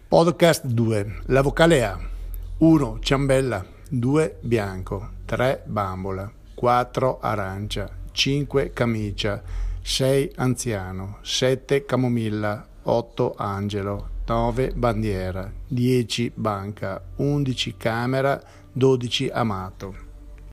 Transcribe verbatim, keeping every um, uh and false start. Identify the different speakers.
Speaker 1: Podcast due. La vocale A. uno. Ciambella. due. Bianco. tre. Bambola. quattro. Arancia. cinque. Camicia. sei. Anziano. sette. Camomilla. otto. Angelo. nove. Bandiera. dieci. Banca. undici. Camera. dodici. Amato.